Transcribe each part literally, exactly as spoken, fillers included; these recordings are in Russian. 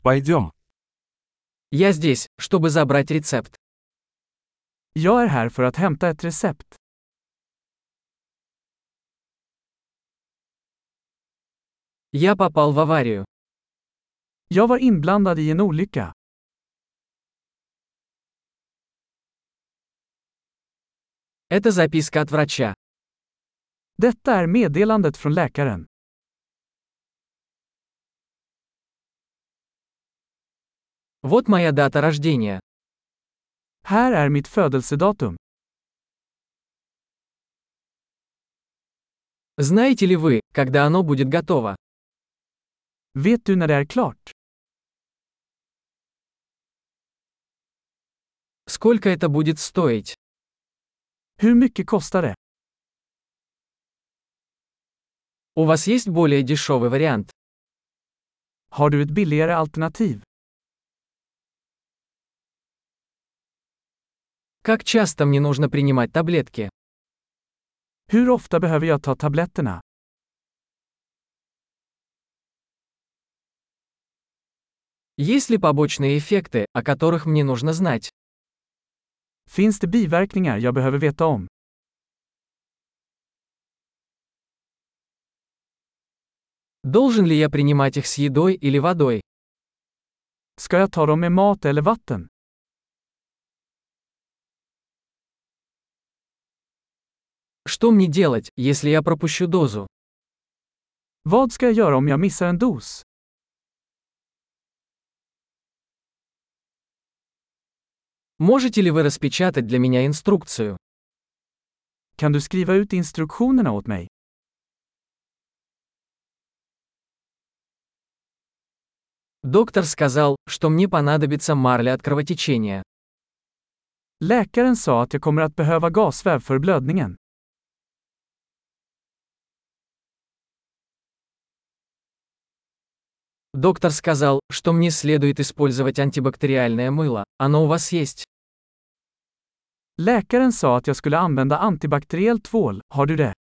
Пойдем. Я здесь, чтобы забрать рецепт. Jag är här för att hämta ett recept. Я попал в аварию. Jag var inblandad i en olycka. Это записка от врача. Detta är meddelandet från läkaren. Вот моя дата рождения. Här är mitt födelsedatum. Знаете ли вы, когда оно будет готово? Vet du när det är klart? Сколько это будет стоить? Hur mycket kostar det? У вас есть более дешевый вариант? Har du ett billigare alternativ? Как часто мне нужно принимать таблетки? Hur ofta behöver jag ta tabletterna? Есть ли побочные эффекты, о которых мне нужно знать? Finns det biverkningar jag behöver veta om? Должен ли я принимать их с едой или водой? Ska jag ta dem med mat eller vatten? Что мне делать, если я пропущу дозу? Vad ska jag göra om jag missar en dos? Можете ли вы распечатать для меня инструкцию? Kan du skriva ut instruktionerna åt mig? Доктор сказал, что мне понадобится марля от кровотечения. Läkaren sa att jag kommer att behöva gasväv för blödningen. Доктор сказал, что мне следует использовать антибактериальное мыло. Оно у вас есть? Läkaren sa att jag skulle använda antibakteriell tvål. Har du det?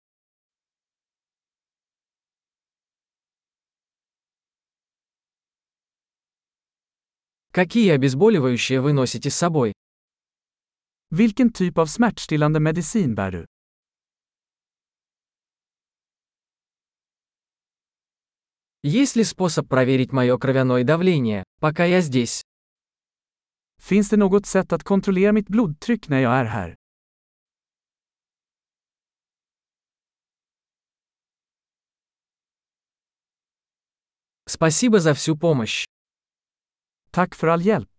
Какие обезболивающие вы носите с собой? Vilken typ av smärtstillande medicin bär du? Есть ли способ проверить мое кровяное давление, пока я здесь? Finns det något sätt att kontrollera mitt blodtryck när jag är här? Спасибо за всю помощь. Tack för all hjälp.